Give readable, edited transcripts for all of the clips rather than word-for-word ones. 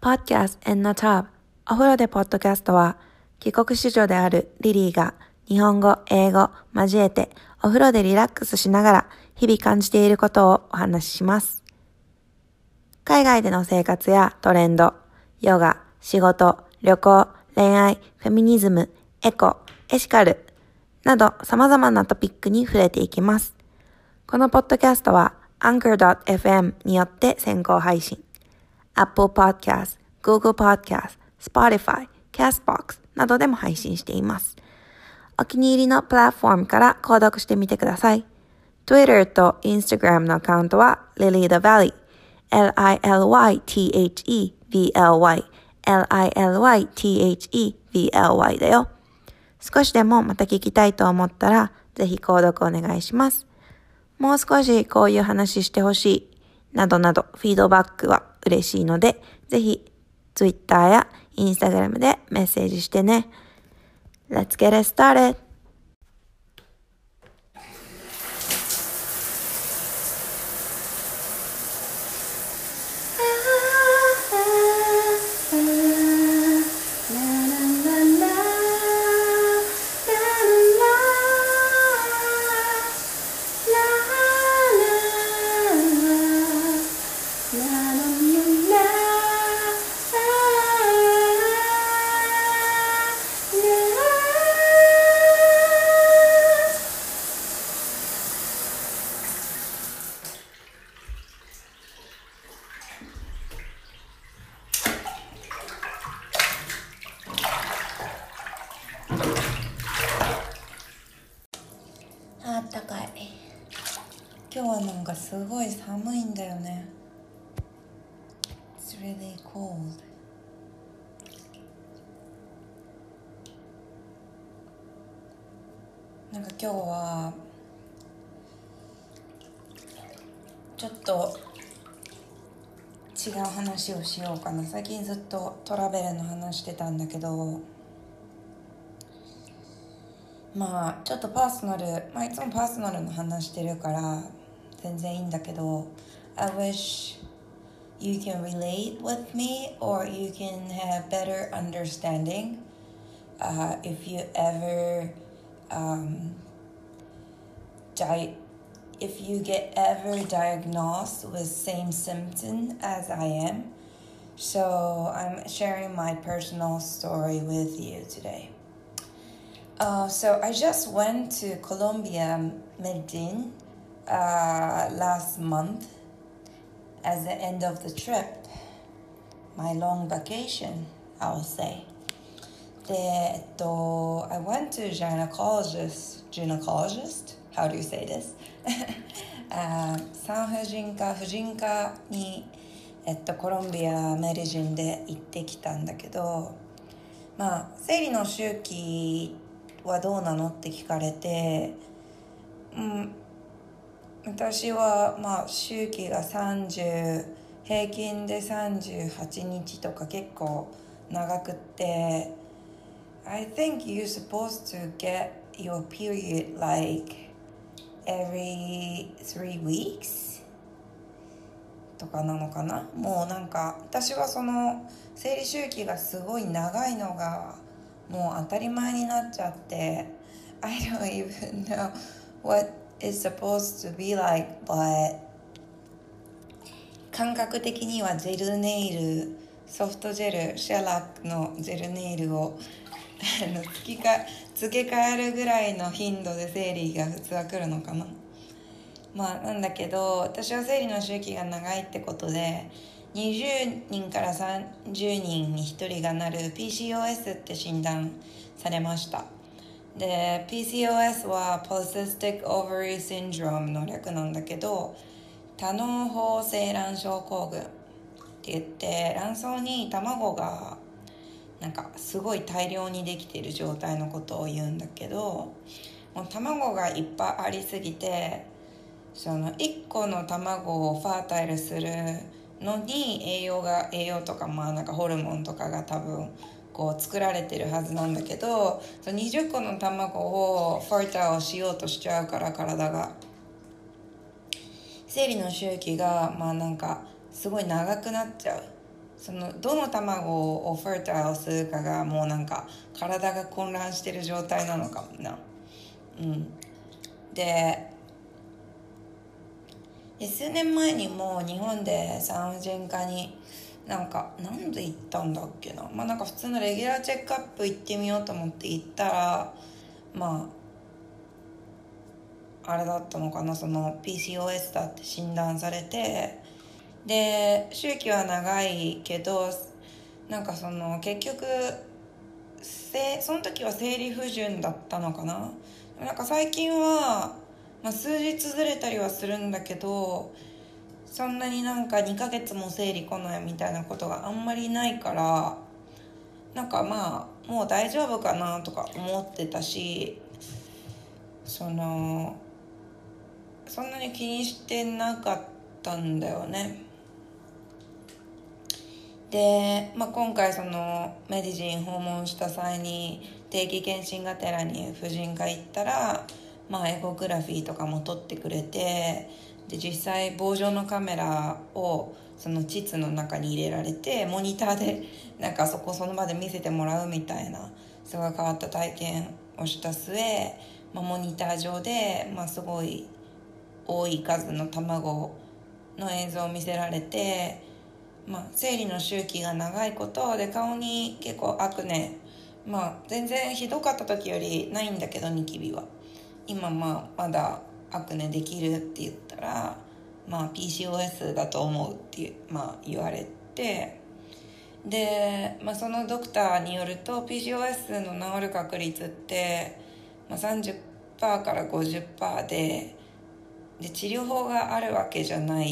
Podcast in the Tub お風呂でポッドキャストは帰国子女であるリリーが日本語、英語交えてお風呂でリラックスしながら日々感じていることをお話しします。海外での生活やトレンド、ヨガ、仕事、旅行、恋愛、フェミニズム、エコ、エシカルなど様々なトピックに触れていきます。このポッドキャストは Anchor.fm によって先行配信。Apple Podcast、Google Podcast、Spotify、Castbox などでも配信しています。お気に入りのプラットフォームから購読してみてください。Twitter と Instagram のアカウントは LilyTheValley、LilyTheVally だよ。少しでもまた聞きたいと思ったら、ぜひ購読お願いします。もう少しこういう話してほしい、などなどフィードバックは嬉しいので、ぜひ Twitter や Instagram でメッセージしてね。Let's get it started! あったかい。今日はなんかすごい寒いんだよね。It's really cold. なんか今日はちょっと違う話をしようかな。最近ずっとトラベルの話してたんだけど、まあちょっとパーソナル、いつもパーソナルの話してるから全然いいんだけど、 I wish you can relate with me or you can have better understanding if you ever if you get ever diagnosed with same symptom as I am. So I'm sharing my personal story with you today.So I just went to Colombia, Medellin, last month as the end of the trip. My long vacation, I will say. I went to gynecologist. How do you say this? 産婦人科に、コロンビアメディンで行ってきたんだけど、生理の周期はどうなのって聞かれて、私は周期が平均で38日とか結構長くって、I think you're supposed to get your period like every 3 weeks とかなのかな。もうなんか私はその生理周期がすごい長いのがもう当たり前になっちゃって、 I don't even know what is supposed to be like, but 感覚的にはジェルネイル、ソフトジェル、シェラックのジェルネイルを付け替えるぐらいの頻度で生理が普通は来るのかな。なんだけど、私は生理の周期が長いってことで20人から30人に1人がなる PCOS って診断されました。で PCOS は Polycystic Ovary Syndrome の略なんだけど、多嚢胞性卵症候群って言って、卵巣に卵がなんかすごい大量にできている状態のことを言うんだけど、もう卵がいっぱいありすぎて、その1個の卵をファータイルするのに栄養とかなんかホルモンとかが多分こう作られてるはずなんだけど、その20個の卵をファータイルしようとしちゃうから体が、生理の周期がなんかすごい長くなっちゃう。 そのどの卵をフェルタイルするかがもうなんか体が混乱してる状態なのかもな。で数年前にも日本で産婦人科になんで行ったんだっけな、なんか普通のレギュラーチェックアップ行ってみようと思って行ったら、あれだったのかな、その PCOS だって診断されて、で周期は長いけどなんかその結局その時は生理不順だったのかな。なんか最近は、数日ずれたりはするんだけど、そんなになんか2ヶ月も生理来ないみたいなことがあんまりないから、なんかもう大丈夫かなとか思ってたし、そんなに気にしてなかったんだよね。で、今回そのメディジン訪問した際に定期検診がてらに婦人科行ったら、エコグラフィーとかも撮ってくれて、で実際棒状のカメラをその膣の中に入れられてモニターでなんかその場で見せてもらうみたいなすごい変わった体験をした末、モニター上で、すごい多い数の卵の映像を見せられて、生理の周期が長いことで顔に結構アクネ、全然ひどかった時よりないんだけどニキビは今まだアクネできるって言ったら、PCOS だと思うって、言われて、で、そのドクターによると PCOS の治る確率って、30% から 50% で治療法があるわけじゃない。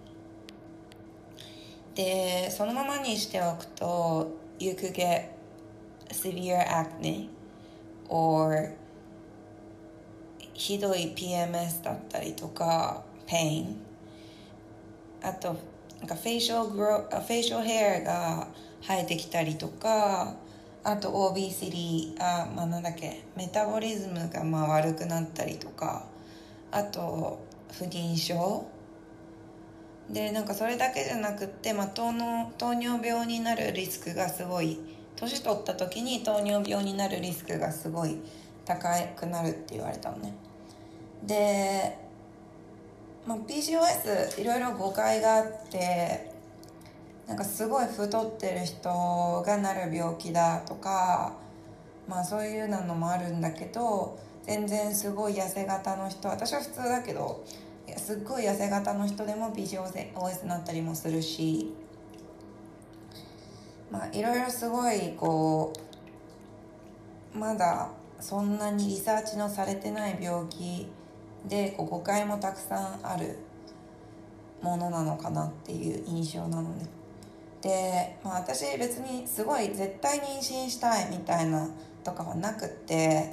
でそのままにしておくと You could get severe acne or ひどい PMS だったりとか pain、 あとなんかフェイシャルヘアが生えてきたりとか、あと obesity、メタボリズムが悪くなったりとか、あと不妊症で、なんかそれだけじゃなくって、糖尿病になるリスクがすごい、年取った時に糖尿病になるリスクがすごい高くなるって言われたのね。で、PCOS いろいろ誤解があって、なんかすごい太ってる人がなる病気だとか、そういうのもあるんだけど、全然すごい痩せ型の人、私は普通だけどすっごい痩せ型の人でも PCOS になったりもするし、いろいろすごいまだそんなにリサーチのされてない病気で誤解もたくさんあるものなのかなっていう印象なのね。で、私別にすごい絶対妊娠したいみたいなとかはなくって、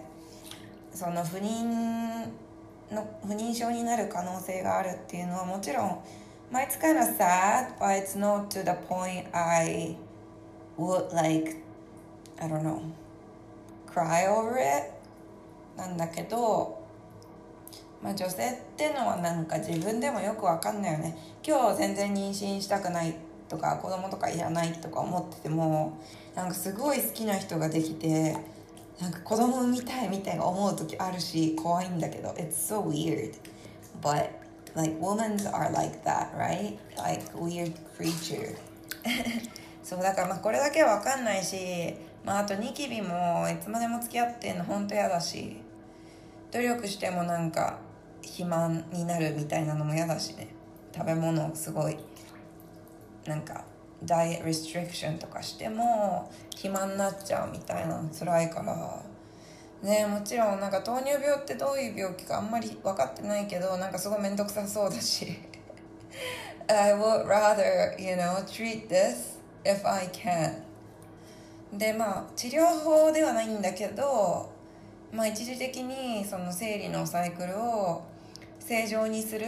その不妊症になる可能性があるっていうのはもちろん、it's kind of sad, but it's not to the point I would I don't know, cry over it なんだけど、女性ってのはなんか自分でもよくわかんないよね。今日全然妊娠したくないとか子供とかいらないとか思ってても、なんかすごい好きな人ができてなんか子供産みたいみたいな思う時あるし、怖いんだけど It's so weird, but women are like that, right? Weird creature そうだからこれだけは分かんないし、あとニキビもいつまでも付き合ってんの本当嫌だし、努力してもなんか肥満になるみたいなのも嫌だしね。食べ物をすごいなんかダイエットリストリクションとかしても肥満になっちゃうみたいなの辛いからね。もちろんなんか糖尿病ってどういう病気かあんまり分かってないけど、なんかすごい面倒くさそうだしI would rather, treat this if I can。 で治療法ではないんだけど、一時的にその生理のサイクルを正常にする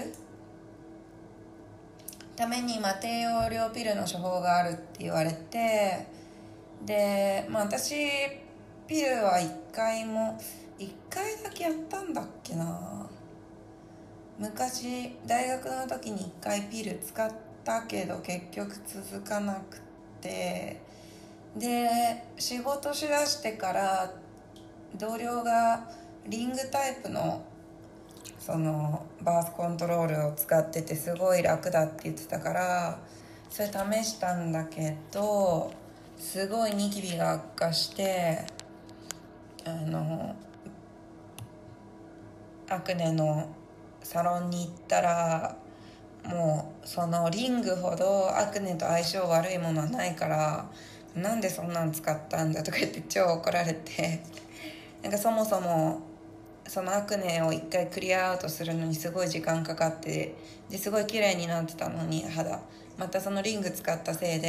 ために低用量ピルの処方があるって言われて、で私ピルは1回だけやったんだっけな。昔大学の時に1回ピル使ったけど結局続かなくて、で仕事しだしてから同僚がリングタイプのそのバースコントロールを使っててすごい楽だって言ってたから、それ試したんだけどすごいニキビが悪化して、アクネのサロンに行ったら、もうそのリングほどアクネと相性悪いものはないから、なんでそんなん使ったんだとか言って超怒られて、なんかそもそもそのアクネを一回クリアアウトするのにすごい時間かかって、ですごい綺麗になってたのに肌、またそのリング使ったせい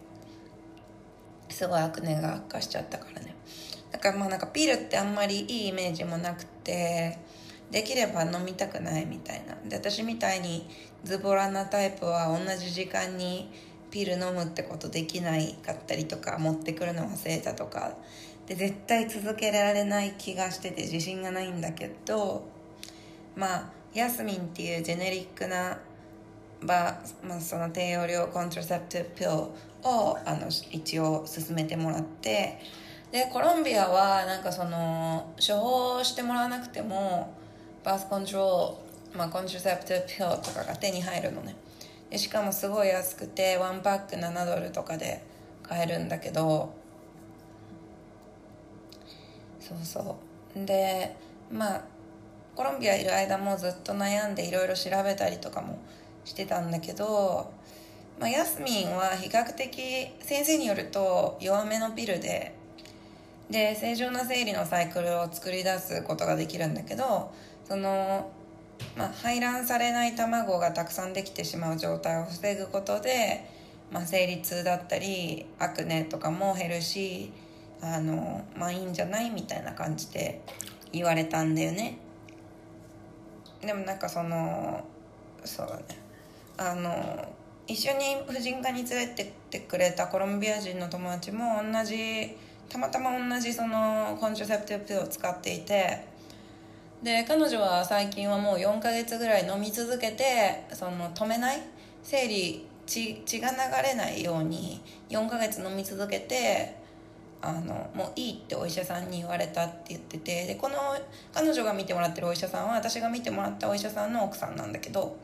ですごいアクネが悪化しちゃったからね。だからまあなんかピルってあんまりいいイメージもなくて、できれば飲みたくないみたいな。で私みたいにズボラなタイプは同じ時間にピル飲むってことできないかったりとか、持ってくるの忘れたとかで絶対続けられない気がしてて自信がないんだけど、まあヤスミンっていうジェネリックなその低用量コントラセプティブピルを一応勧めてもらって、でコロンビアはなんかその処方してもらわなくてもバースコントロール、コントラセプティブピルとかが手に入るのね。でしかもすごい安くて1パック$7とかで買えるんだけど、そうでコロンビアいる間もずっと悩んでいろいろ調べたりとかもしてたんだけど、ヤスミンは比較的先生によると弱めのピルで正常な生理のサイクルを作り出すことができるんだけど、その排卵されない卵がたくさんできてしまう状態を防ぐことで、生理痛だったりアクネとかも減るし、いいんじゃないみたいな感じで言われたんだよね。でもなんかそうだね、一緒に婦人科に連れてってくれたコロンビア人の友達もたまたま同じそのコントラセプティブピルを使っていて、で彼女は最近はもう4ヶ月ぐらい飲み続けて、その止めない血が流れないように4ヶ月飲み続けて、もういいってお医者さんに言われたって言ってて、でこの彼女が見てもらってるお医者さんは私が見てもらったお医者さんの奥さんなんだけど、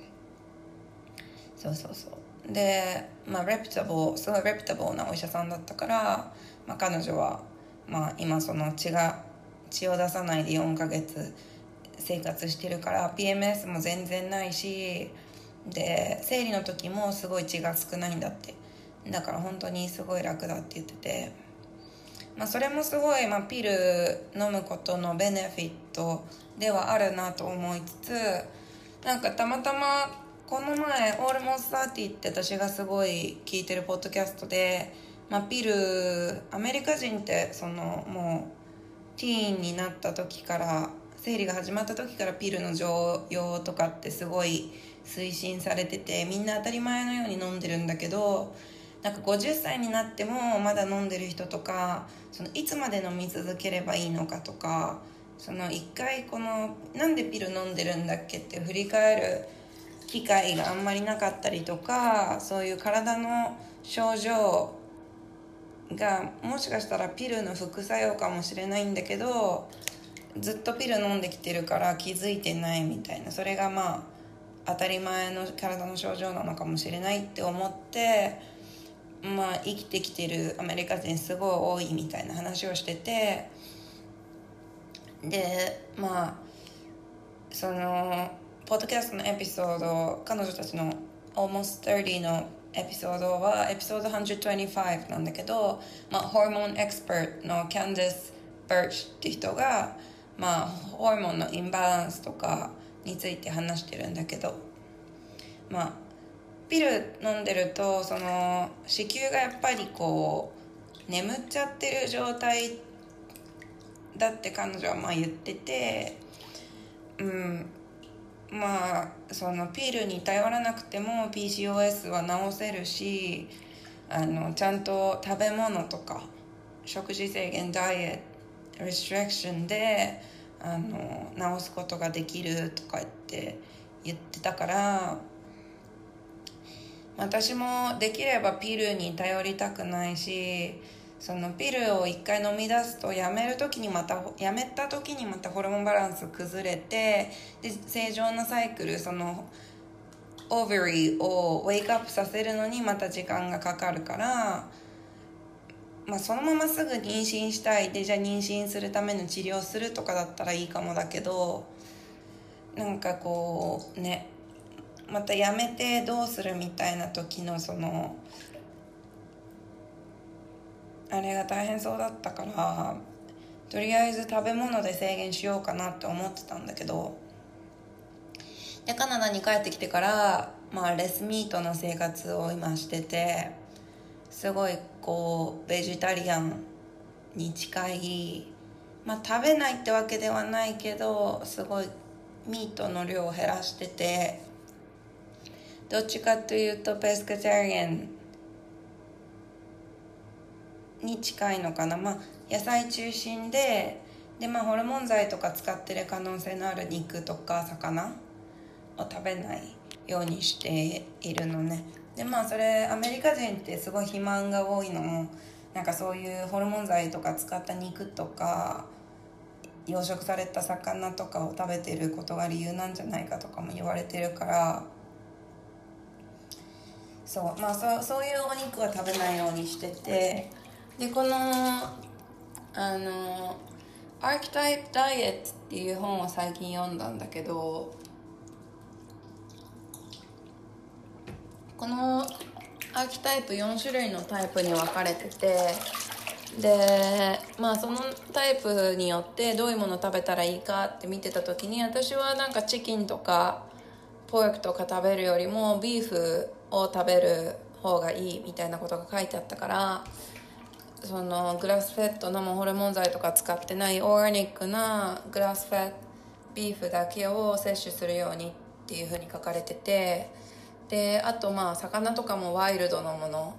そうですごいレプタブルなお医者さんだったから、彼女は今その血を出さないで4ヶ月生活してるから PMS も全然ないし、で生理の時もすごい血が少ないんだって。だから本当にすごい楽だって言ってて、それもすごい、ピル飲むことのベネフィットではあるなと思いつつ、なんかたまたまこの前 Almost 30って私がすごい聞いてるポッドキャストで、ピルアメリカ人ってもうティーンになった時から生理が始まった時からピルの常用とかってすごい推進されてて、みんな当たり前のように飲んでるんだけど、なんか50歳になってもまだ飲んでる人とか、いつまで飲み続ければいいのかとか、一回なんでピル飲んでるんだっけって振り返る機会があんまりなかったりとか、そういう体の症状がもしかしたらピルの副作用かもしれないんだけど、ずっとピル飲んできてるから気づいてないみたいな、それが当たり前の体の症状なのかもしれないって思って、生きてきてるアメリカ人すごい多いみたいな話をしてて、でそのポッドキャストのエピソード、彼女たちの Almost 30のエピソードはエピソード125なんだけど、ホルモンエクスパートのキャンディス・バーチって人がホルモンのインバランスとかについて話してるんだけど、ピル飲んでると子宮がやっぱり眠っちゃってる状態だって彼女は言ってて、そのピルに頼らなくても PCOS は治せるし、ちゃんと食べ物とか食事制限、ダイエットリストリクションで治すことができるとか言ってたから、 私もできればピルに頼りたくないし、そのピルを一回飲み出すとやめた時にまたホルモンバランス崩れて、で正常なサイクル、そのオーバリーをウェイクアップさせるのにまた時間がかかるから、そのまますぐ妊娠したいで、じゃあ妊娠するための治療するとかだったらいいかもだけど、なんかこうね、またやめてどうするみたいな時のそのあれが大変そうだったから、とりあえず食べ物で制限しようかなって思ってたんだけど、でカナダに帰ってきてから、レスミートの生活を今してて、すごいこうベジタリアンに近い、食べないってわけではないけど、すごいミートの量を減らしてて、どっちかというとペスカタリアンに近いのかな。野菜中心で、ホルモン剤とか使ってる可能性のある肉とか魚を食べないようにしているのね。でそれアメリカ人ってすごい肥満が多いのも、なんかそういうホルモン剤とか使った肉とか養殖された魚とかを食べてることが理由なんじゃないかとかも言われてるから、そういうお肉は食べないようにしてて、でこのアーキタイプダイエットっていう本を最近読んだんだけど、このアーキタイプ4種類のタイプに分かれてて、でそのタイプによってどういうものを食べたらいいかって見てた時に、私はなんかチキンとかポークとか食べるよりもビーフを食べる方がいいみたいなことが書いてあったから、そのグラスフェッド生ホルモン剤とか使ってないオーガニックなグラスフェッドビーフだけを摂取するようにっていう風に書かれてて、であと魚とかもワイルドのもの、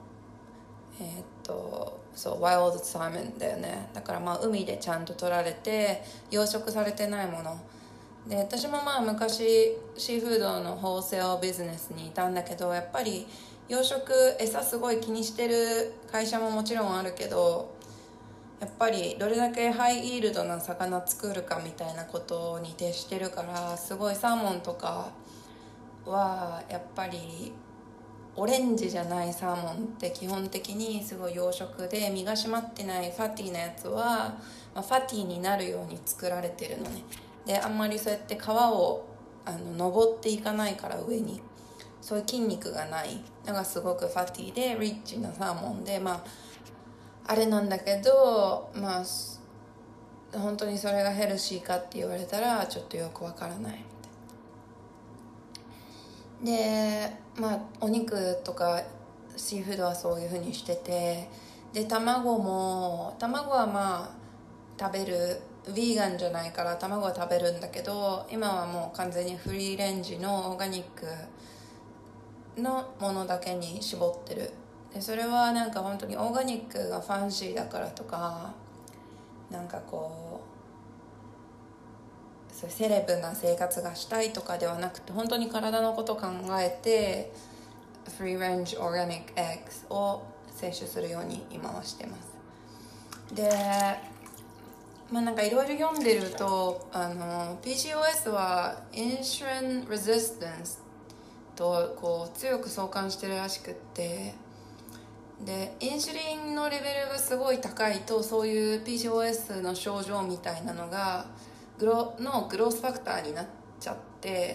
そうワイルドサーモンだよね。だから海でちゃんと取られて養殖されてないもので、私も昔シーフードのホールセールビジネスにいたんだけど、やっぱり養殖餌すごい気にしてる会社ももちろんあるけど、やっぱりどれだけハイイールドな魚作るかみたいなことに徹してるから、すごいサーモンとかはやっぱりオレンジじゃないサーモンって基本的にすごい養殖で、身が締まってないファティーなやつは、ファティーになるように作られてるのね。であんまりそうやって皮を登っていかないから、上にそういう筋肉がないのがすごくファティーでリッチなサーモンで、あれなんだけど、本当にそれがヘルシーかって言われたらちょっとよくわからないみたいで、お肉とかシーフードはそういう風にしてて、で卵は食べる、ヴィーガンじゃないから卵は食べるんだけど、今はもう完全にフリーレンジのオーガニックのものだけに絞ってる。でそれはなんか本当にオーガニックがファンシーだからとか、なんかこうそういうセレブな生活がしたいとかではなくて、本当に体のことを考えてフリーレンジオーガニックエッグを摂取するように今はしてます。でなんかいろいろ読んでると、PCOS はインシュリンレジスタンスとこう強く相関してるらしくって、でインシュリンのレベルがすごい高いと、そういう PCOS の症状みたいなのがグロースファクターになっちゃって、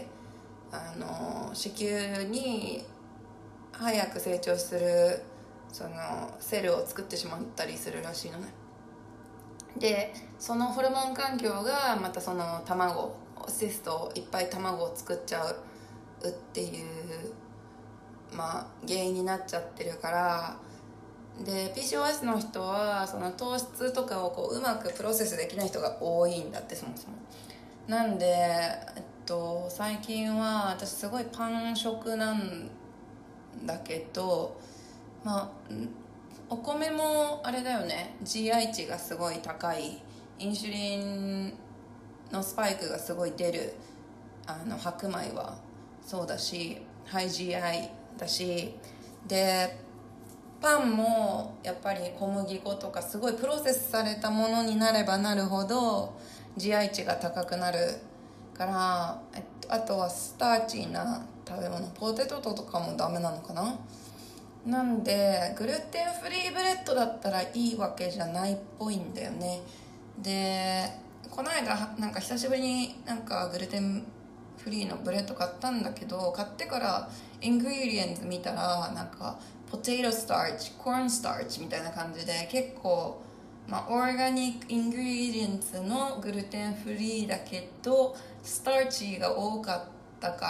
子宮に早く成長するそのセルを作ってしまったりするらしいのね。でそのホルモン環境がまたその卵シストいっぱい卵を作っちゃうっていう原因になっちゃってるから、で PCOS の人はその糖質とかをこううまくプロセスできない人が多いんだって、そもそも。なんで、最近は私すごいパン食なんだけど、お米もあれだよね、 GI 値がすごい高い、インシュリンのスパイクがすごい出る白米はそうだし、ハイ GI だし、 でパンもやっぱり小麦粉とかすごいプロセスされたものになればなるほど GI 値が高くなるから、あとはスターチーな食べ物、ポテトとかもダメなのかな。なんでグルテンフリーブレッドだったらいいわけじゃないっぽいんだよね。でこの間なんか久しぶりになんかグルテンフリーのブレッド買ったんだけど、買ってからイングリディエンツ見たらなんかポテトスターチ、コーンスターチみたいな感じで結構、オーガニックイングリディエンツのグルテンフリーだけどスターチが多かったから、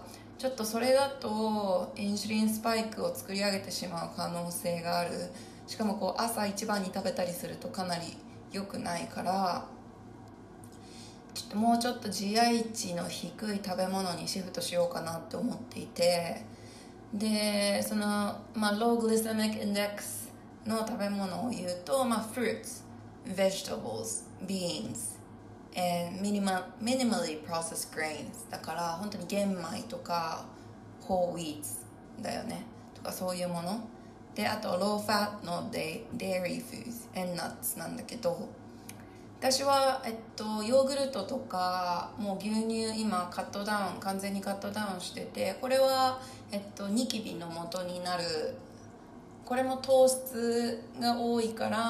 ちょっとそれだとインスリンスパイクを作り上げてしまう可能性がある。しかもこう朝一番に食べたりするとかなり良くないから、ちょっともうちょっと GI 値の低い食べ物にシフトしようかなって思っていて、でその、ローグリセミックインデックスの食べ物を言うと、fruits, vegetables, beans and minimally processed grains だから本当に玄米とか whole wheats だよねとかそういうもので、あと low fat の dairy foods and nuts なんだけど、私は、ヨーグルトとかもう牛乳今完全にカットダウンしてて、これは、ニキビの元になる、これも糖質が多いから、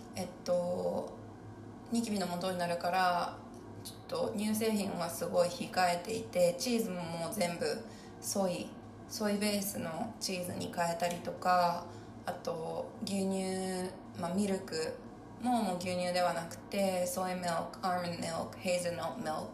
ニキビの元になるからちょっと乳製品はすごい控えていて、チーズももう全部ソイベースのチーズに変えたりとか、あと牛乳、ミルクもう牛乳ではなくてソイミルク、アーモンドミルク、ヘーゼルナッツミルク、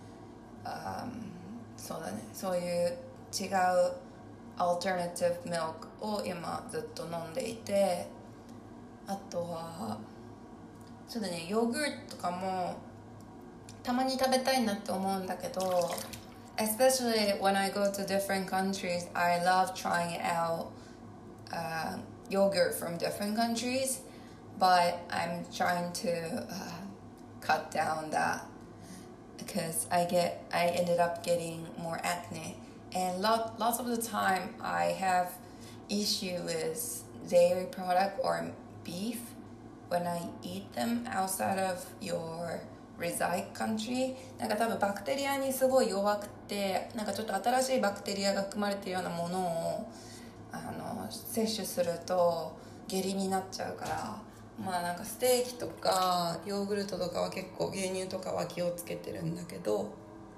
そうだね、そういう違うアルタナティブミルクを今ずっと飲んでいて、あとはそうだね、ヨーグルトとかもたまに食べたいなって思うんだけど、especially when I go to different countries, I love trying out yogurt from different countries, but I'm trying to cut down that because I ended up getting more acne, and lots of the time I have issue with dairy product or beef when I eat them outside of your reside country. なんか多分バクテリアにすごい弱くて、なんかちょっと新しいバクテリアが含まれているようなものを摂取すると下痢になっちゃうから、なんかステーキとかヨーグルトとかは結構牛乳とかは気をつけてるんだけど、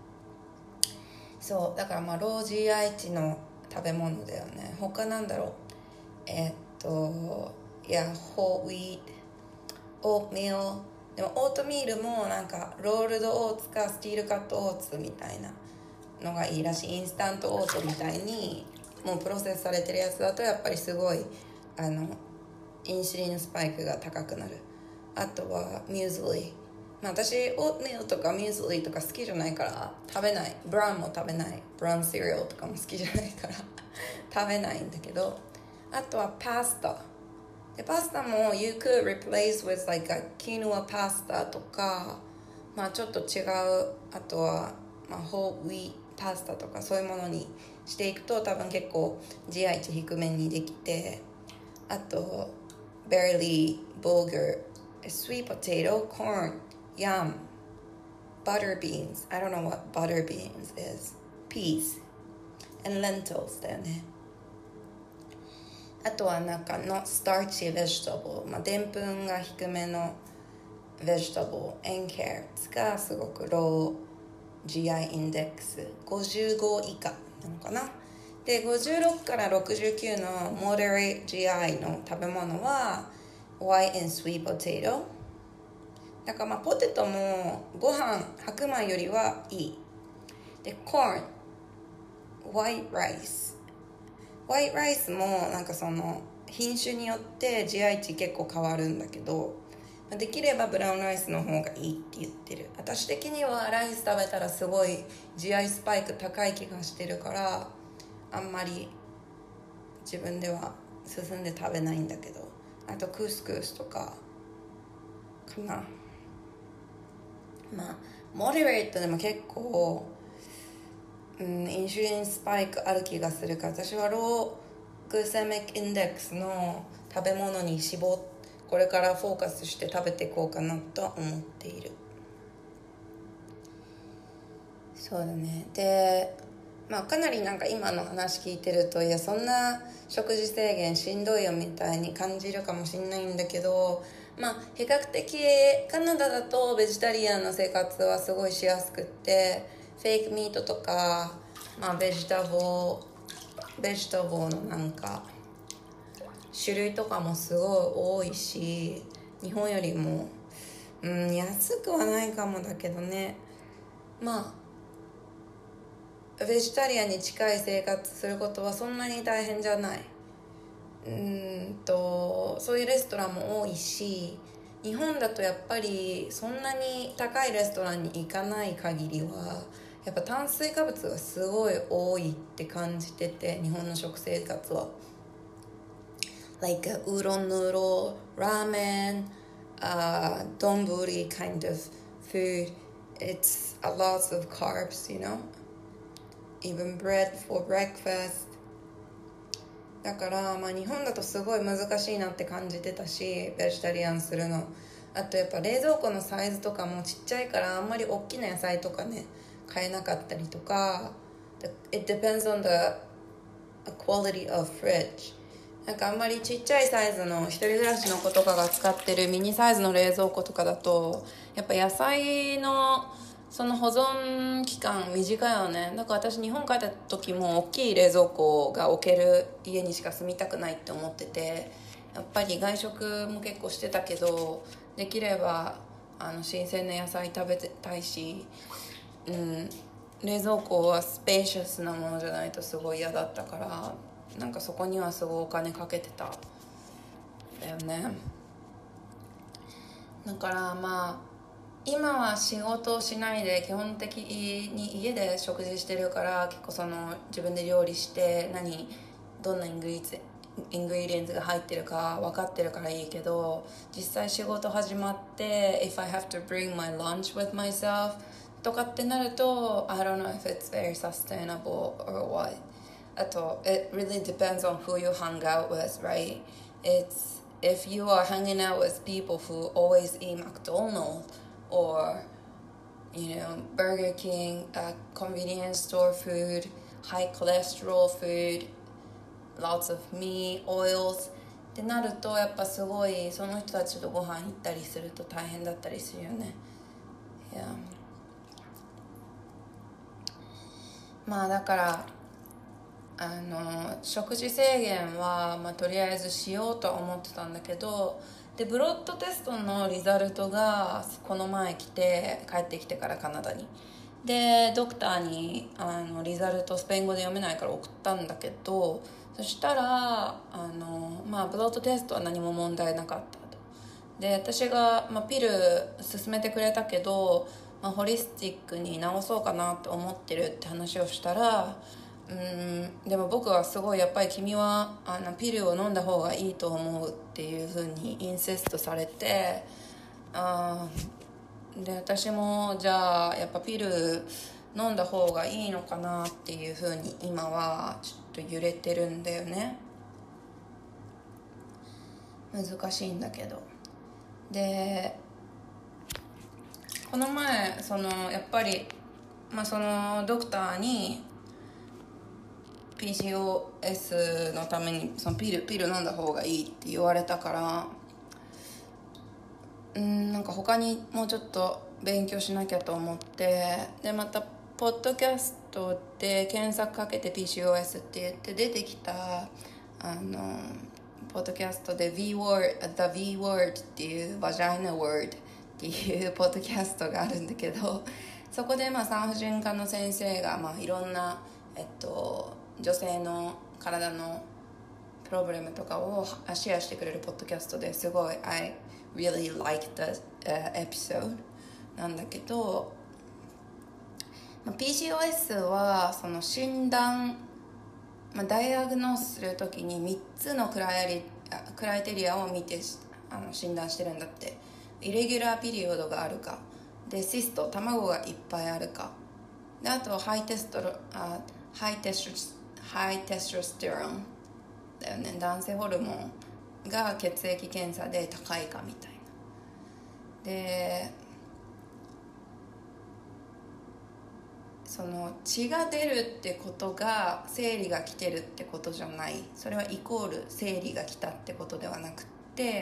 そうだからロー GI 値の食べ物だよね。他なんだろう、ホールウィート、オートミール。でもオートミールもなんかロールドオーツかスティールカットオーツみたいなのがいいらしい。インスタントオートみたいにもうプロセスされてるやつだとやっぱりすごいインシュリンスパイクが高くなる。あとはミューズリー、私オートミールとかミューズリーとか好きじゃないから食べない。ブラウンも食べない。ブラウンシリアルとかも好きじゃないから食べないんだけど、あとはパスタで、パスタも you could replace with like a quinoa パスタとか、ちょっと違う、あとは、ホールウィートパスタとかそういうものにしていくと多分結構 GI 値低めにできて、あと barley, bulgur, sweet potato, corn, yam, butter beans, I don't know what butter beans is, peas and lentils だよね。あとはなんかのスターチベジタブル、でんぷんが低めのベジタブル and carrots がすごくロー GI インデックス55以下なのかな。で56から69の moderate GI の食べ物は white and sweet potato だからポテトもご飯白米よりはいい。で corn white rice もなんかその品種によって GI 値結構変わるんだけど、できればブラウンライスの方がいいって言ってる。私的にはライス食べたらすごい GI スパイク高い気がしてるからあんまり自分では進んで食べないんだけど、あとクスクスとかかな。モデレートでも結構インシュリンスパイクある気がするから、私はログセミックインデックスの食べ物にこれからフォーカスして食べていこうかなと思っている。そうだね。でかなり今の話聞いてると、いやそんな食事制限しんどいよみたいに感じるかもしれないんだけど、比較的カナダだとベジタリアンの生活はすごいしやすくって、フェイクミートとか、ベジタボーの種類とかもすごい多いし、日本よりも安くはないかもだけどね、ベジタリアンに近い生活することはそんなに大変じゃない。そういうレストランも多いし、日本だとやっぱりそんなに高いレストランに行かない限りはやっぱ炭水化物がすごい多いって感じてて、日本の食生活はうどん、ヌードル、ラーメン、丼 kind of food. It's a lot of carbs, even bread for breakfast. だから日本だとすごい難しいなって感じてたし、ベジタリアンするの。あとやっぱ冷蔵庫のサイズとかもちっちゃいから、あんまり大きな野菜とかね買えなかったりとか。 It depends on the quality of fridge. あんまりちっちゃいサイズの一人暮らしの子とかが使ってるミニサイズの冷蔵庫とかだと、やっぱ野菜のその保存期間短いよね。だから私日本帰った時も大きい冷蔵庫が置ける家にしか住みたくないって思ってて、やっぱり外食も結構してたけど、できれば新鮮な野菜食べたいし、冷蔵庫はスペーシャスなものじゃないとすごい嫌だったから、そこにはすごいお金かけてただよね。だから今は仕事をしないで基本的に家で食事してるから、結構自分で料理してどんなイングリディエンツが入ってるか分かってるからいいけど、実際仕事始まって If I have to bring my lunch with myself とかってなると I don't know if it's very sustainable or what. あと It really depends on who you hang out with, right? If you are hanging out with people who always eat McDonald's or Burger King, convenience store food, high cholesterol food, lots of meat, oils ってなると、やっぱすごいその人たちとご飯行ったりすると大変だったりするよね。だから食事制限は、とりあえずしようとは思ってたんだけど、でブロッドテストのリザルトがこの前帰ってきてからカナダに、でドクターにリザルトスペイン語で読めないから送ったんだけど、そしたらブロッドテストは何も問題なかったと。で私が、ピル勧めてくれたけど、ホリスティックに治そうかなって思ってるって話をしたら、でも僕はすごいやっぱり君はピルを飲んだ方がいいと思うっていう風にインセストされて、で私もじゃあやっぱピル飲んだ方がいいのかなっていう風に今はちょっと揺れてるんだよね。難しいんだけど。でこの前やっぱり、そのドクターにPCOS のためにピル飲んだ方がいいって言われたから、他にもうちょっと勉強しなきゃと思って、でまたポッドキャストで検索かけて PCOS って言って出てきたポッドキャストで The V Word っていうバジャイナ Word っていうポッドキャストがあるんだけど、そこで産婦人科の先生がいろんな女性の体のプロブレムとかをシェアしてくれるポッドキャストですごい I really liked the episode なんだけど、PCOS はその診断、ダイアグノースするときに3つのクライテリアを見て診断してるんだって。イレギュラーピリオドがあるかで、シスト卵がいっぱいあるかで、あとハイテストステロンだよね。男性ホルモンが血液検査で高いかみたいな。でその血が出るってことが生理が来てるってことじゃない。それはイコール生理が来たってことではなくって、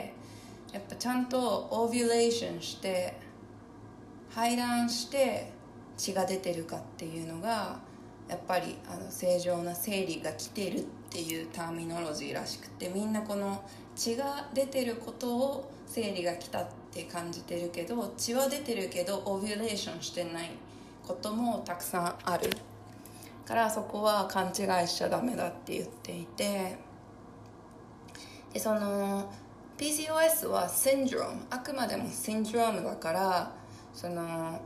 やっぱちゃんとオビュレーションして排卵して血が出てるかっていうのがやっぱり正常な生理が来てるっていうターミノロジーらしくて、みんなこの血が出てることを生理が来たって感じてるけど、血は出てるけどオビュレーションしてないこともたくさんあるから、そこは勘違いしちゃダメだって言っていて、でその PCOS はシンドローム、あくまでもシンドロームだから、その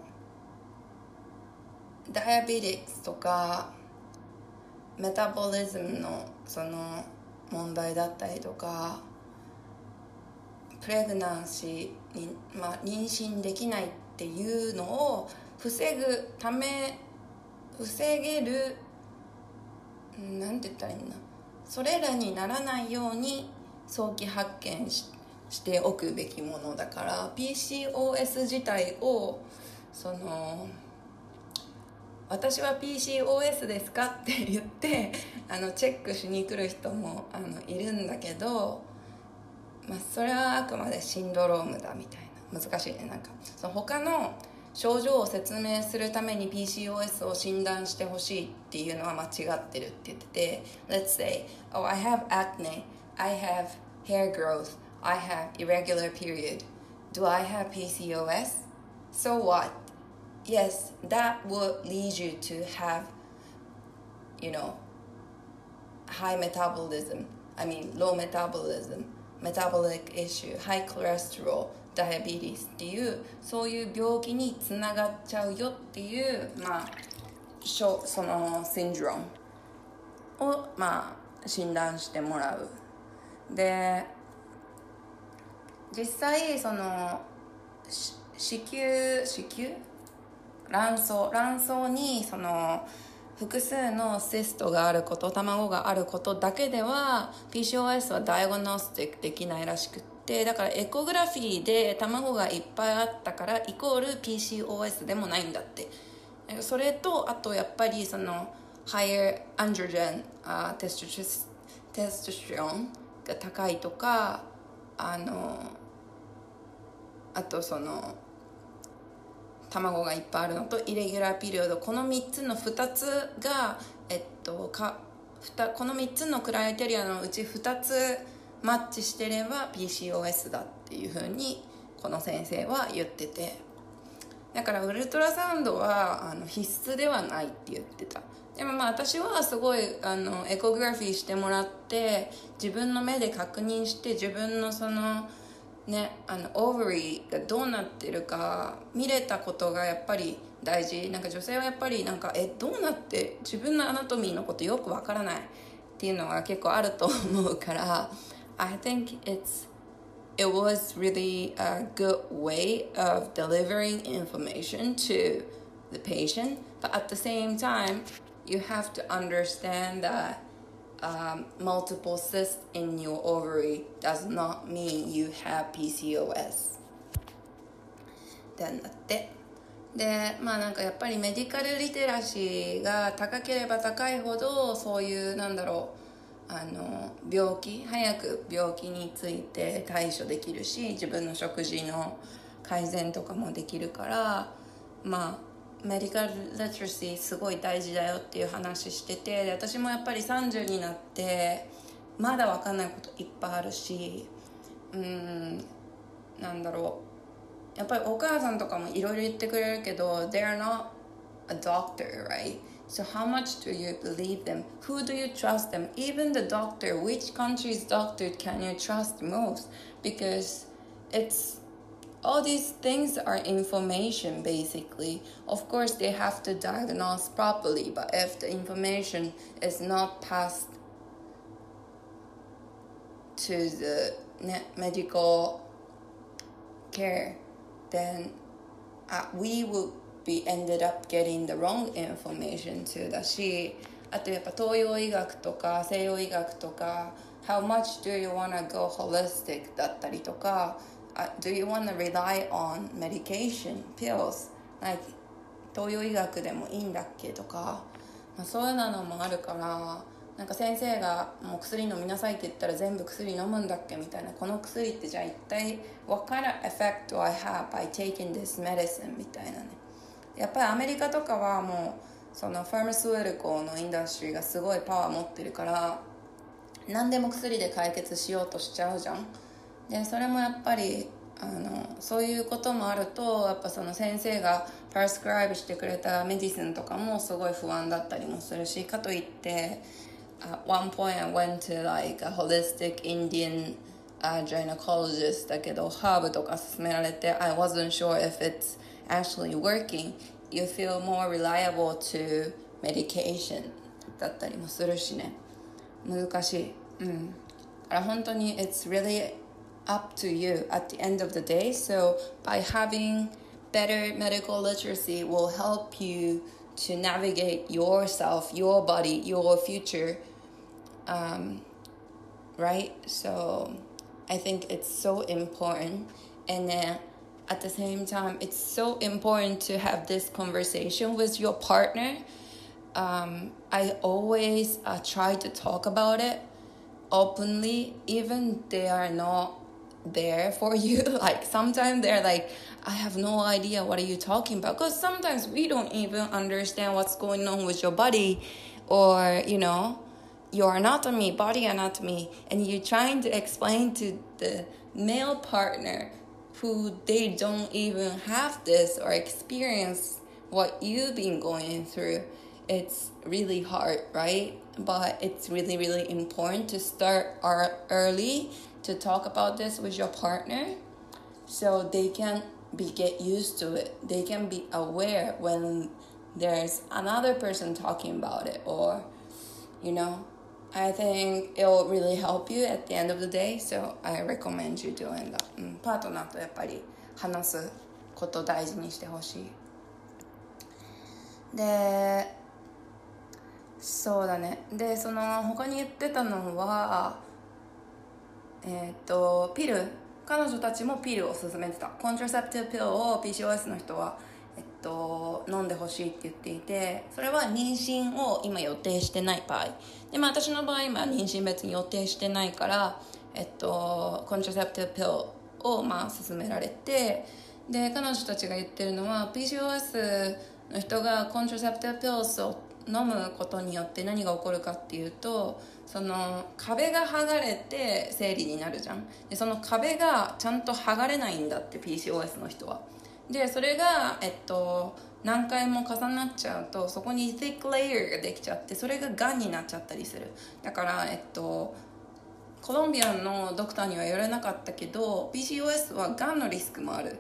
ダイアベティクスとかメタボリズムのその問題だったりとか、プレグナンシーに、妊娠できないっていうのを防げる、なんて言ったらいいんだ、それらにならないように早期発見しておくべきものだから、 PCOS 自体をその私は PCOS ですかって言ってチェックしに来る人もいるんだけど、それはあくまでシンドロームだみたいな。難しいね。なんかその他の症状を説明するために PCOS を診断してほしいっていうのは間違ってるって言ってて、 Let's say, oh, I have acne, I have hair growth, I have irregular period. Do I have PCOS? So what? Yes, that would lead you to have, high metabolism, low metabolism, metabolic issue, high cholesterol, diabetes っていう、そういう病気につながっちゃうよっていう、そのシンドロームを、診断してもらう。で実際その子宮卵巣にその複数のシストがあること、卵があることだけでは PCOS はダイアグノスティックできないらしくって、だからエコグラフィーで卵がいっぱいあったからイコール PCOS でもないんだって。それとあとやっぱりその higher androgen、テストステロンが高いとか、あとその卵がいっぱいあるのとイレギュラーピリオド、この3つの2つが、この3つのクライテリアのうち2つマッチしてれば PCOS だっていう風にこの先生は言ってて、だからウルトラサウンドは必須ではないって言ってた。でも私はすごいエコグラフィーしてもらって自分の目で確認して、自分のそのオーバリーがどうなってるか見れたことがやっぱり大事。なんか女性はやっぱりどうなって自分のアナトミーのことよくわからないっていうのが結構あると思うから、I think it was really a good way of delivering information to the patient, but at the same time you have to understand that、multiple cysts in your ovary does not mean you have PCOS ってなって、でなんかやっぱりメディカルリテラシーが高ければ高いほど、そういう病気、早く病気について対処できるし、自分の食事の改善とかもできるから、メディカルリテラシーすごい大事だよっていう話してて、で私もやっぱり30になってまだ分かんないこといっぱいあるし、やっぱりお母さんとかもいろいろ言ってくれるけど They are not a doctor, right? So how much do you believe them? Who do you trust them? Even the doctor, which country's doctor can you trust most? Because all these things are information basically. Of course they have to diagnose properly, but if the information is not passed to the medical care, then we will be ended up getting the wrong information too だし、あとやっぱ東洋医学とか西洋医学とか how much do you want to go holistic だったりとか、do you want to rely on medication, pills, like 東洋医学でもいいんだっけとか、そういうのもあるから、なんか先生がもう薬飲みなさいって言ったら全部薬飲むんだっけみたいな、この薬ってじゃあ一体 what kind of effect do I have by taking this medicine みたいなね。やっぱりアメリカとかはもうそのファーマスウエルコのインダストリーがすごいパワー持ってるから、何でも薬で解決しようとしちゃうじゃん。でそれもやっぱりそういうこともあると、やっぱその先生がパースクライブしてくれたメディシンとかもすごい不安だったりもするし、かといってAt one point I went to like a holistic Indian gynecologist だけどハーブとか勧められて I wasn't sure if it's actually working. You feel more reliable to medication だったりもするしね、難しい。だから本当に It's really up to you at the end of the day. So by having better medical literacy will help you to navigate yourself, your body, your future, right? So I think it's so important. And then at the same time, it's so important to have this conversation with your partner. I always try to talk about it openly, even they are not there for you. Like sometimes they're like, I have no idea what are you talking about, because sometimes we don't even understand what's going on with your body, or your anatomy, body anatomy, and you're trying to explain to the male partner who they don't even have this or experience what you've been going through. It's really hard, right? But it's really, really important to start early to talk about this with your partner, so they can get used to it. They can be aware when there's another person talking about it, or I think it will really help you at the end of the day. So I recommend you doing that. パートナーとやっぱり話すこと大事にしてほしい。でそうだね。でその他に言ってたのはピル、彼女たちもピルを勧めてた。コントラセプティブピルを PCOS の人は飲んでほしいって言っていて、それは妊娠を今予定してない場合で、私の場合今妊娠別に予定してないから、コントラセプティブピルを勧められて、で彼女たちが言ってるのは PCOS の人がコントラセプティブピルを飲むことによって何が起こるかっていうと、その壁が剥がれて生理になるじゃん。でその壁がちゃんと剥がれないんだって PCOS の人は。でそれが何回も重なっちゃうと、そこに thick layer ができちゃって、それががんになっちゃったりする。だからコロンビアのドクターには言われなかったけど PCOS はがんのリスクもある。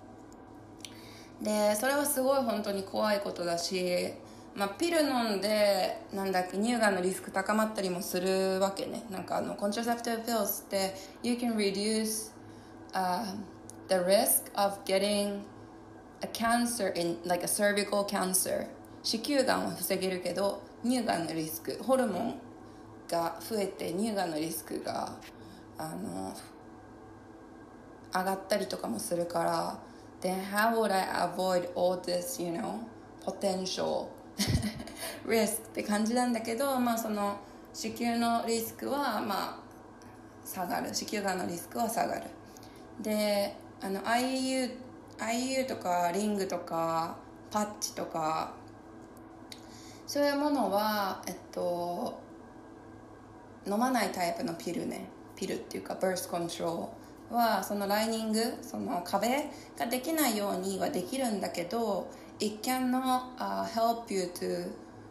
でそれはすごい本当に怖いことだし、ピル飲んで乳がんのリスク高まったりもするわけね。コントラセプティブピルスって You can reduce、the risk of getting a cancer in like a cervical cancer。 子宮がんは防げるけど乳がんのリスク、ホルモンが増えて乳がんのリスクが上がったりとかもするから、 Then how would I avoid all this potential risk って感じなんだけど、その子宮のリスクは下がる、子宮がんのリスクは下がる。でIU とかリングとかパッチとかそういうものは飲まないタイプのピルっていうか birth control はそのライニング、その壁ができないようにはできるんだけど、 It cannot、help you to、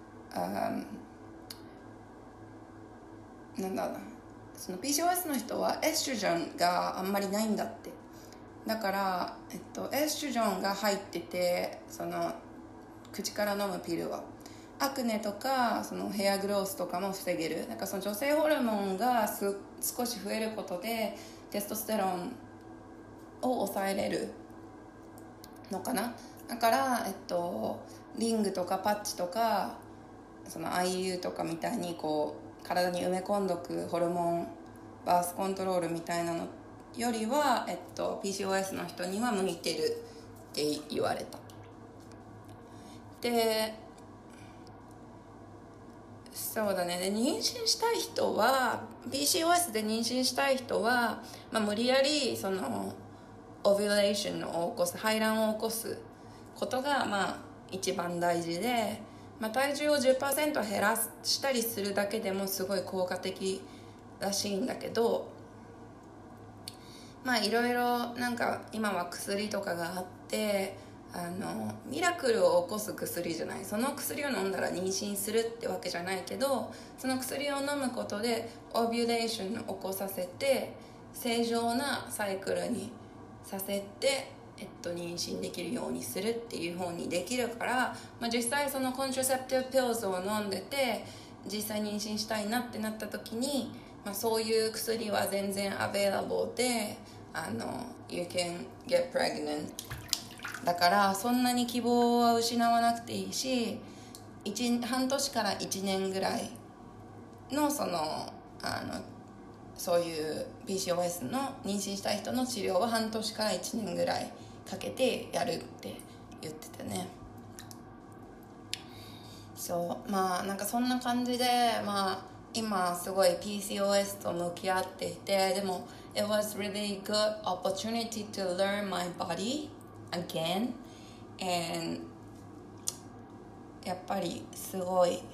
その PCOS の人はエストロジェンがあんまりないんだって。だから、エストロジェンが入ってて、その口から飲むピルはアクネとかそのヘアグロースとかも防げる。その女性ホルモンが少し増えることでテストステロンを抑えれるのかな。だから、リングとかパッチとかその IU とかみたいにこう体に埋め込んどくホルモンバースコントロールみたいなのよりは、PCOS の人には向いてるって言われた。でそうだね、で妊娠したい人は PCOS で妊娠したい人は、無理やりそのオビュレーションを起こす、排卵を起こすことが一番大事で、体重を 10% 減らしたりするだけでもすごい効果的らしいんだけど、いろいろなんか今は薬とかがあって、ミラクルを起こす薬じゃない、その薬を飲んだら妊娠するってわけじゃないけど、その薬を飲むことでオビュレーションを起こさせて正常なサイクルにさせて、妊娠できるようにするっていう方にできるから、実際そのコントラセプティブピルズを飲んでて実際妊娠したいなってなった時に、そういう薬は全然アベイラボーでYou can get pregnant だから、そんなに希望は失わなくていいし、半年から1年ぐらいのそういう PCOS の妊娠したい人の治療は半年から1年ぐらいかけてやるって言ってたね。そうなんかそんな感じで、今すごい PCOS と向き合っていて、でも It was really good opportunity to learn my body again, and やっぱりすごい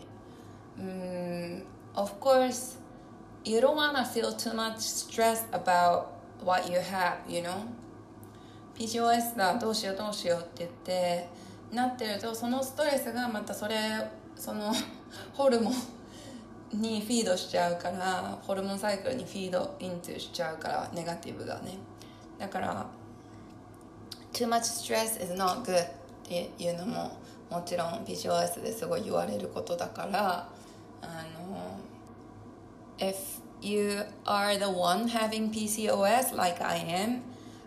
of course you don't want to feel too much stress about what you have, you know? PCOS だ、どうしようって言ってなってると、そのストレスがまたそのホルモンにフィードしちゃうから、ホルモンサイクルにフィードイントゥしちゃうから、ネガティブがね。だからtoo much stress is not good っていうのももちろん PCOS ですごい言われることだから、if you are the one having PCOS like I am,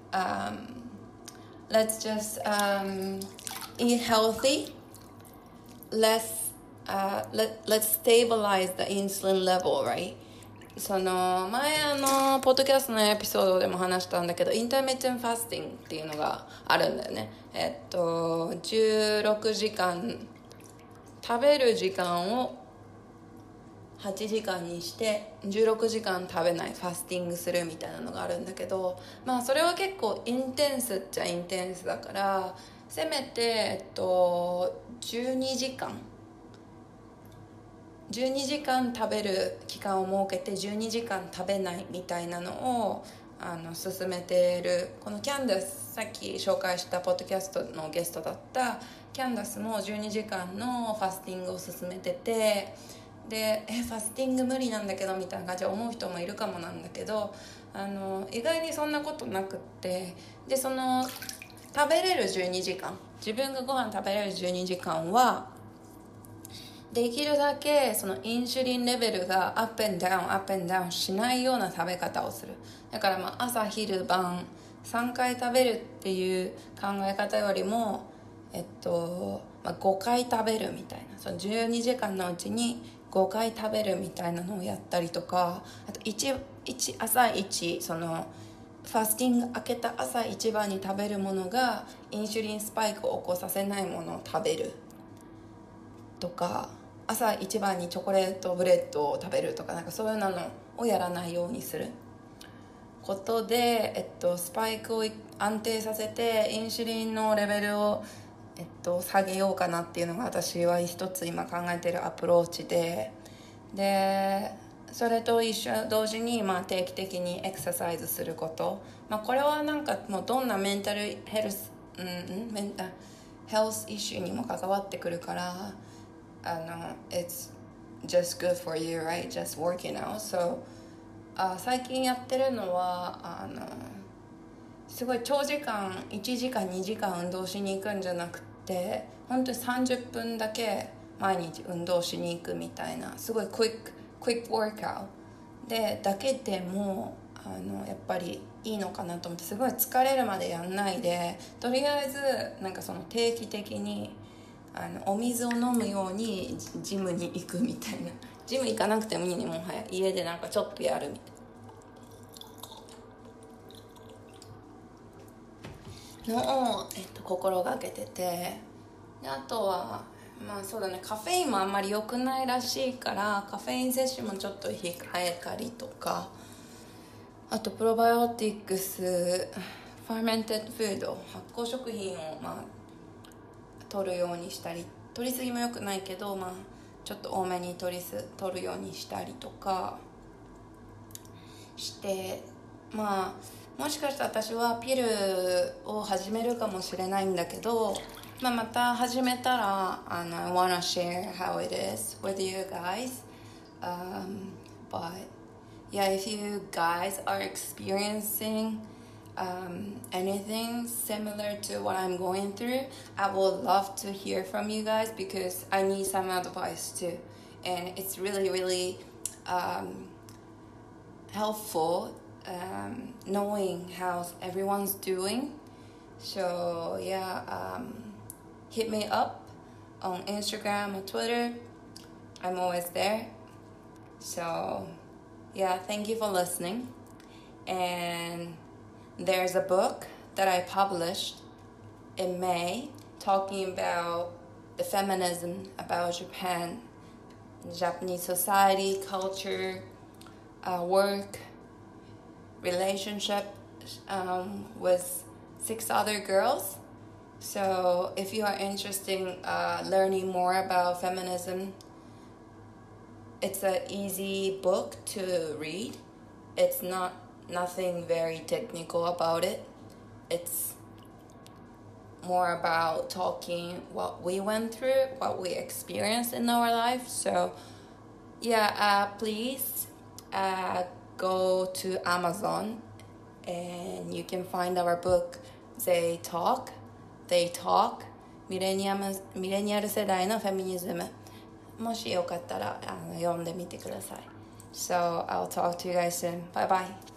let's just eat healthy. Let's stabilize the insulin level, right? その前ポッドキャストのエピソードでも話したんだけど、インターミッテンファスティングっていうのがあるんだよね。16時間食べる時間を8時間にして16時間食べないファスティングするみたいなのがあるんだけど、それは結構インテンスっちゃインテンスだから、せめて12時間食べる期間を設けて12時間食べないみたいなのを進めている。このキャンダス、さっき紹介したポッドキャストのゲストだったキャンダスも12時間のファスティングを進めてて、でファスティング無理なんだけどみたいな感じで思う人もいるかもなんだけど、意外にそんなことなくって、でその食べれる12時間、自分がご飯食べれる12時間はできるだけそのインシュリンレベルがアップエンダウンしないような食べ方をする。だから朝昼晩3回食べるっていう考え方よりも5回食べるみたいな、その12時間のうちに5回食べるみたいなのをやったりとか、あと朝一そのファスティング明けた朝一番に食べるものがインシュリンスパイクを起こさせないものを食べるとか、朝一番にチョコレートブレッドを食べるとか、なんかそういうのをやらないようにすることで、スパイクを安定させてインシュリンのレベルを下げようかなっていうのが私は一つ今考えているアプローチで、それと同時に定期的にエクササイズすること、これはなんかもうどんなメンタルヘルスイシューにも関わってくるから、it's just good for you, right? Just working out. So 最近やってるのはすごい長時間1時間2時間運動しに行くんじゃなくて、本当に30分だけ毎日運動しに行くみたいな、すごいクイックワークアウトでだけでもやっぱりいいのかなと思って、すごい疲れるまでやんないで、とりあえずなんかその定期的にお水を飲むようにジムに行くみたいな、ジム行かなくてもいいね、もはや家でなんかちょっとやるみたいな。 のを、心がけてて、であとはまあそうだね、カフェインもあんまり良くないらしいからカフェイン摂取もちょっと控えたりとか、あとプロバイオティクス、ファーメンテッドフード、発酵食品をまあ取るようにしたり、取りすぎも良くないけど、まあちょっと多めに取るようにしたりとかして、まあもしかしたら私はピルを始めるかもしれないんだけど、まあ、また始めたらI wanna share how it is with you guys. But yeah, if you guys are experiencing anything similar to what I'm going through, I would love to hear from you guys because I need some advice too, and it's really really helpful knowing how everyone's doing. So yeah, hit me up on Instagram or Twitter. I'm always there. So yeah, thank you for listening. And there's a book that I published in May talking about the feminism, about Japan, Japanese society, culture, work, relationship, with 6 other girls. So if you are interested in learning more about feminism, it's an easy book to read. It's nothing very technical about it. It's more about talking what we went through, what we experienced in our life. So yeah, please go to Amazon and you can find our book, They Talk,ミレニアル世代のフェミニズム。もしよかったら読んでみてください。So I'll talk to you guys soon. Bye bye.